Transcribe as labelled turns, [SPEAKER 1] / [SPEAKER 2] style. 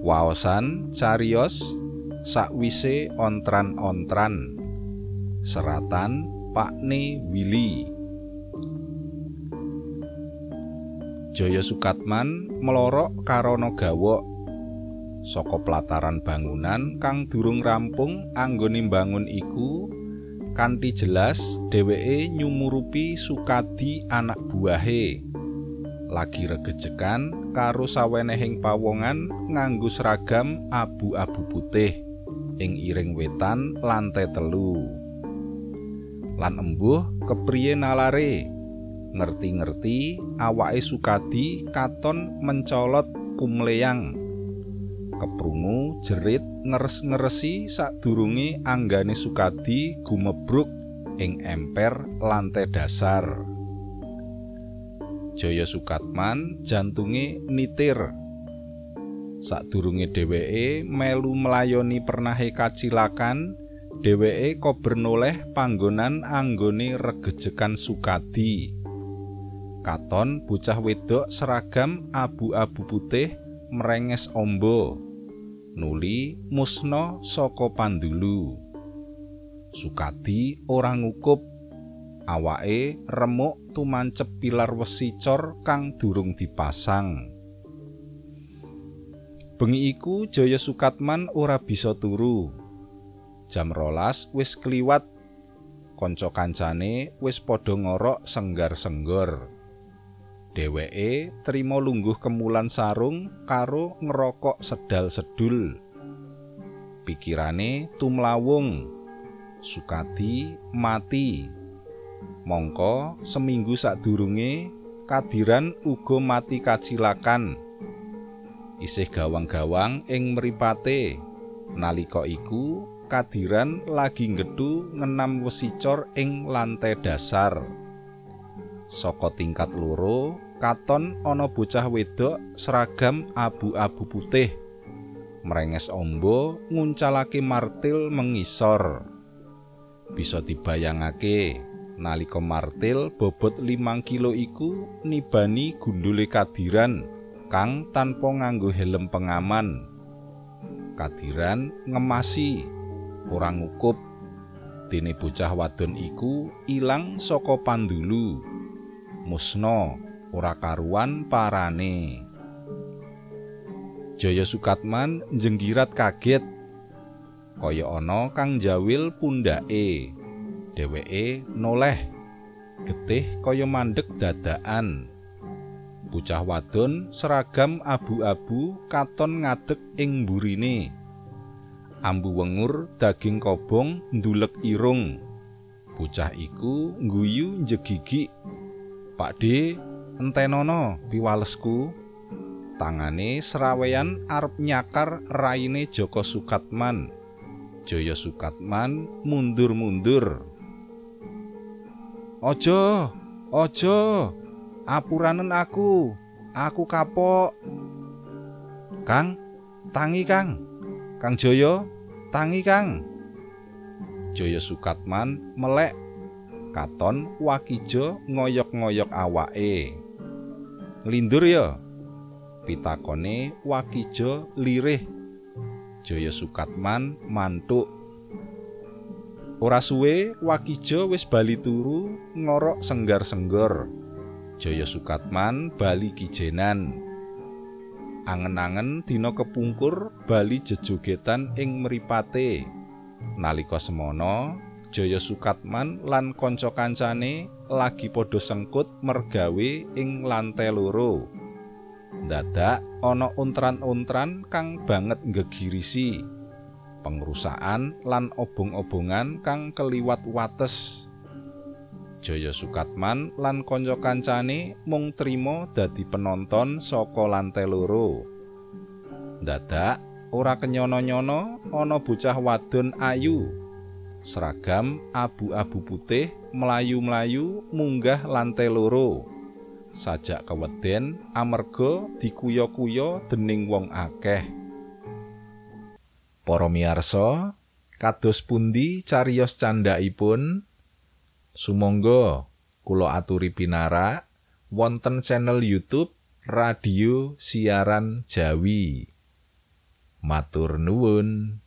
[SPEAKER 1] Waosan cariyos sakwise ontran-ontran. Seratan Pakne Willy. Jaya Sukatman melorok karana gawok saka plataran bangunan kang durung rampung anggone mbangun iku. Kanthi jelas dheweke nyumurupi Sukadi anak buahe lagi regejekan karo sawenehing pawongan nganggo seragam abu-abu putih ing iring wetan lantai 3. Lan embuh kepriye nalare ngerti-ngerti awake Sukadi katon mencolot kumleyang. Keprungu jerit ngeres-ngeresi sadurunge anggane Sukadi gumebruk ing emper lantai dasar. Jaya Sukatman jantunge nitir. Sadurunge dheweke melu melayoni pernahe kacilakan, dheweke kober noleh panggonan anggone regejekan Sukadi. Katon bocah wedok seragam abu-abu putih merenges ombo nuli musna saka pandulu. Sukadi ora ngukup, awake remuk tumancep pilar wesi cor kang durung dipasang. Bengi iku Jaya Sukatman ora bisa turu. Jam 12 wis kliwat. Kanca kancane wis padha ngorok senggar-senggor. Dheweke trima lungguh kemulan sarung karo ngerokok sedal-sedul. Pikirane tumlawung. Sukadi mati. Mongko seminggu sadurunge Kadiran uga mati kacilakan. Isih gawang-gawang ing mripate. Nalika iku Kadiran lagi nggethu ngenam wesi cor ing lantai dasar. Saka tingkat loro katon ana bocah wedok seragam abu-abu putih merenges ombo nguncalake martil mengisor. Bisa dibayangake nalika martil bobot 5 kilo iku nibani gundule Kadiran kang tanpa nganggo helm pengaman. Kadiran ngemasi ora ngukup dene bocah wadon iku ilang saka pandulu. Musna ora karuan parane. Jaya Sukatman njenggirat kaget kaya ana kang njawil pundhake. Dheweke noleh getih kaya mandeg dadakan. Bocah wadon seragam abu-abu katon ngadeg ing mburine. Ambu wengur daging kobong ndulek irung. Bocah iku ngguyu njegigi. Pakde, entenono piwalesku. Tangane seraweyan arep nyakar raine Joko Sukatman. Jaya Sukatman mundur-mundur. Ojo, apuranen aku kapok. Kang, tangi Kang. Kang Jaya, tangi Kang. Jaya Sukatman melek. Katon Wakijo ngoyok-ngoyok awake. Nglindur ya? Pitakone Wakijo lirih. Jaya Sukatman mantuk. Ora suwe Wakijo wis bali turu ngorok senggar-senggor. Jaya Sukatman bali kijenan. Angen-angen dina kepungkur bali jejogetan ing mripate. Nalika semono Jaya Sukatman lan kanca kancane lagi padha sengkut mergawe ing lantai 2. Dadak ana untran-untran kang banget nggegirisi. Pengrusakan lan obong-obongan kang keliwat wates. Jaya Sukatman lan kanca kancane mung trima dadi penonton saka lantai 2. Dadak ora kenyono-nyono ana bocah wadon ayu. Seragam abu-abu putih mlayu-mlayu munggah lantai 2. Sajak keweden amarga dikuya-kuya dening wong akeh. Para miyarsa, kados pundi cariyos candhaipun? Sumangga kula aturi pinarak wonten channel YouTube Radio Siaran Jawi. Matur nuwun.